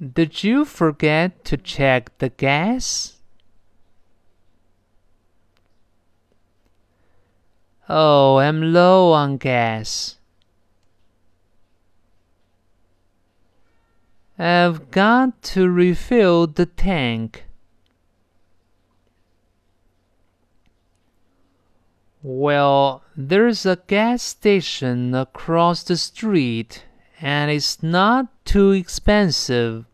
Did you forget to check the gas? Oh, I'm low on gas. I've got to refill the tank. Well, there's a gas station across the street, and it's not too expensive.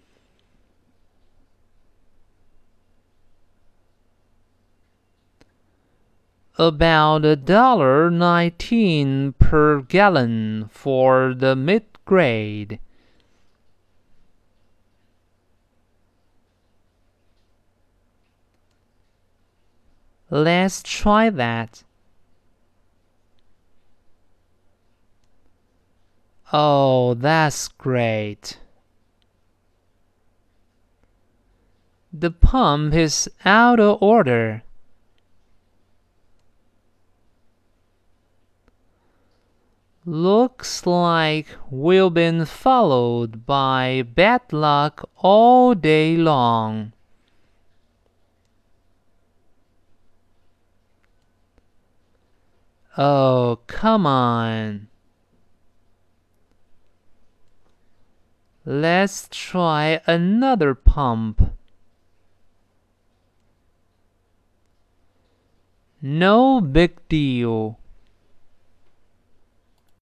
About $1.19 per gallon for the mid-grade. Let's try that. Oh, that's great. The pump is out of order. Looks like we've been followed by bad luck all day long. Oh, come on. Let's try another pump. No big deal.